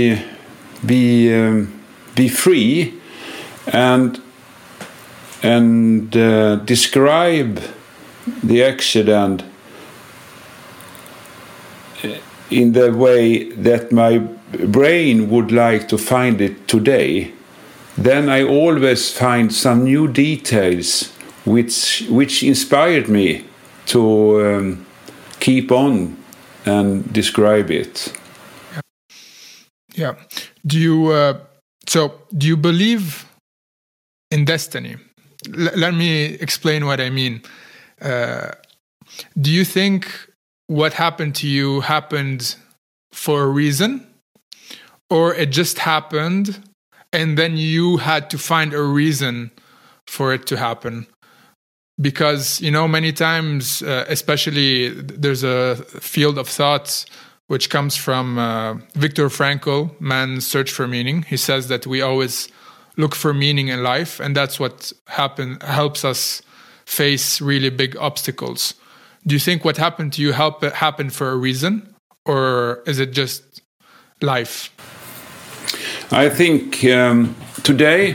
B: be free and describe the accident in the way that my brain would like to find it today, then I always find some new details which inspired me to keep on and describe it.
A: Yeah. Do you believe in destiny? Let me explain what I mean. Do you think what happened to you happened for a reason, or it just happened and then you had to find a reason for it to happen? Because, many times, especially there's a field of thought which comes from Viktor Frankl, Man's Search for Meaning. He says that we always look for meaning in life, and that's what helps us face really big obstacles. Do you think what happened to you happened for a reason, or is it just life?
B: I think today,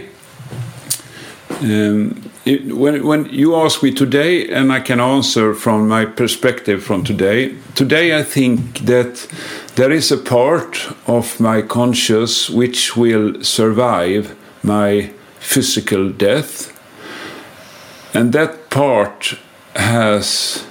B: when you ask me today, and I can answer from my perspective from today. Today, I think that there is a part of my conscious which will survive my physical death, and that part has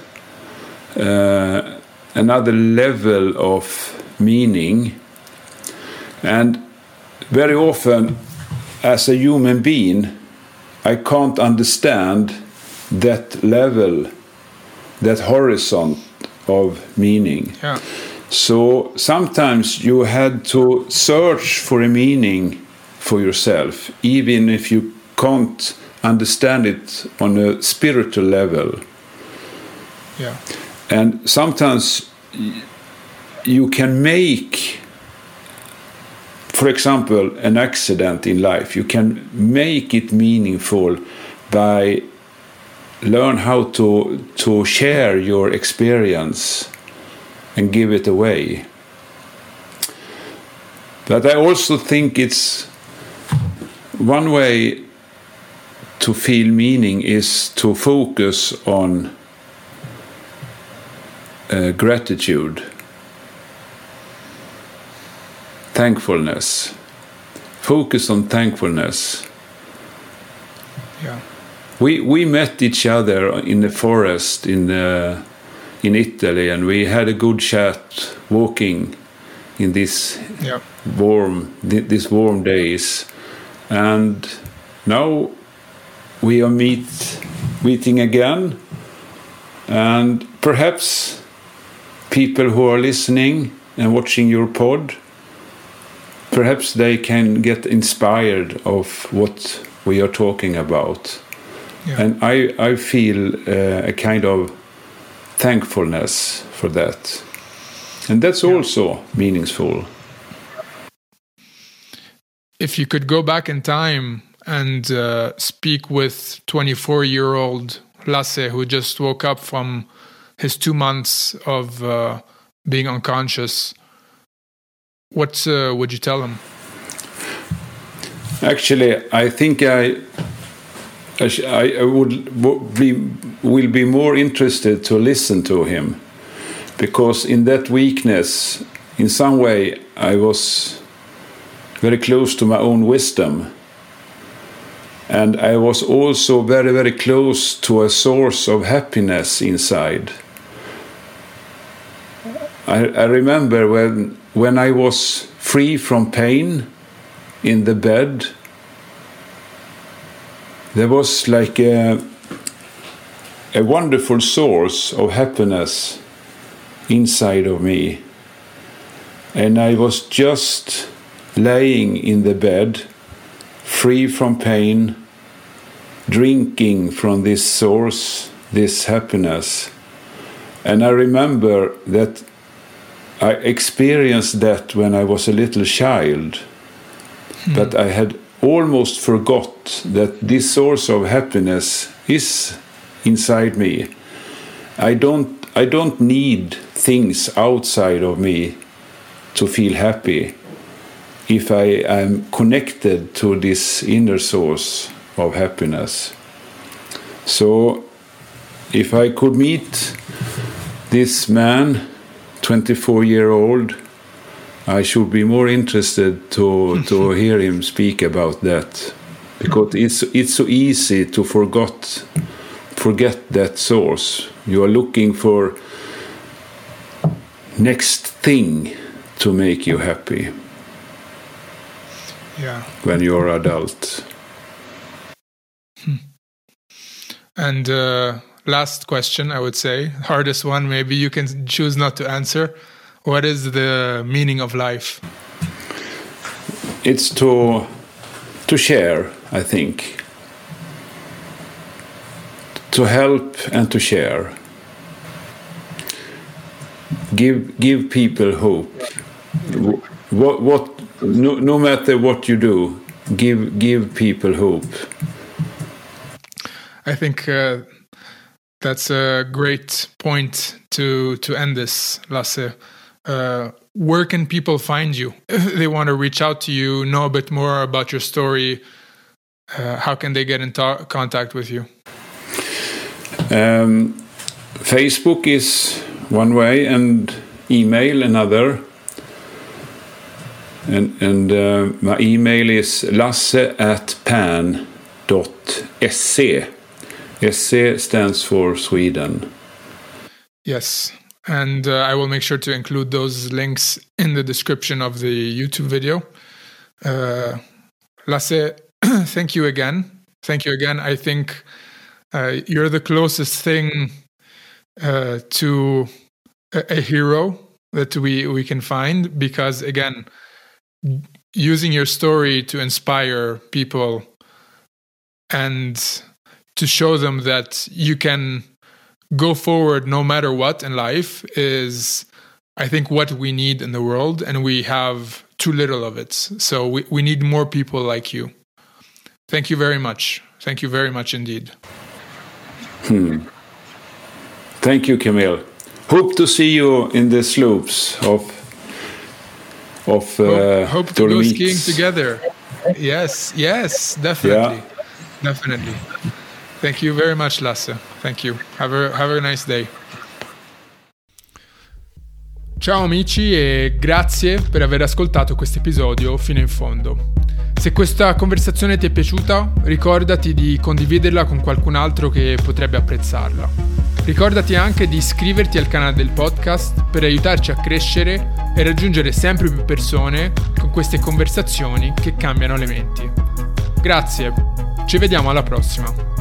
B: another level of meaning. And very often, as a human being, I can't understand that level, that horizon of meaning.
A: Yeah.
B: So sometimes you had to search for a meaning for yourself, even if you can't understand it on a spiritual level.
A: Yeah.
B: And sometimes you can make, for example, an accident in life. You can make it meaningful by learn how to share your experience and give it away. But I also think it's one way to feel meaning is to focus on gratitude, thankfulness. Focus on thankfulness.
A: Yeah.
B: We met each other in the forest in Italy, and we had a good chat walking in these warm days. And now we are meeting again, and perhaps people who are listening and watching your pod, perhaps they can get inspired of what we are talking about.
A: Yeah.
B: And I feel a kind of thankfulness for that. And that's also meaningful.
A: If you could go back in time and speak with 24-year-old Lasse, who just woke up from his 2 months of being unconscious, what would you tell him?
B: Actually, I think I will be more interested to listen to him, because in that weakness, in some way, I was very close to my own wisdom, and I was also very, very close to a source of happiness inside. I remember when I was free from pain in the bed, there was like a wonderful source of happiness inside of me. And I was just laying in the bed, free from pain, drinking from this source, this happiness. And I remember that I experienced that when I was a little child, but I had almost forgot that this source of happiness is inside me. I don't need things outside of me to feel happy if I am connected to this inner source of happiness. So if I could meet this man, 24-year-old, I should be more interested to hear him speak about that, because it's so easy to forget that source. You are looking for next thing to make you happy.
A: Yeah.
B: When you're adult.
A: And last question, I would say, hardest one, maybe you can choose not to answer. What is the meaning of life?
B: It's to share, I think. To help and to share. Give people hope. No matter what you do, give people hope.
A: I think that's a great point to end this, Lasse. Where can people find you? If they want to reach out to you, know a bit more about your story, how can they get in contact with you?
B: Facebook is one way, and email another. And my email is lasse@pan.se. SE stands for Sweden.
A: Yes, and I will make sure to include those links in the description of the YouTube video. Lasse, thank you again. Thank you again. I think you're the closest thing to a hero that we can find, because, again, using your story to inspire people and to show them that you can go forward no matter what in life is, I think, what we need in the world, and we have too little of it. So we need more people like you. Thank you very much. Thank you very much indeed.
B: Thank you, Camille. Hope to see you in the slopes of
A: hope to go skiing together. Yes, definitely.
B: Yeah.
A: Definitely. Thank you very much, Lasse. Thank you. Have a nice day. Ciao amici e grazie per aver ascoltato questo episodio fino in fondo. Se questa conversazione ti è piaciuta, ricordati di condividerla con qualcun altro che potrebbe apprezzarla. Ricordati anche di iscriverti al canale del podcast per aiutarci a crescere e raggiungere sempre più persone con queste conversazioni che cambiano le menti. Grazie, ci vediamo alla prossima.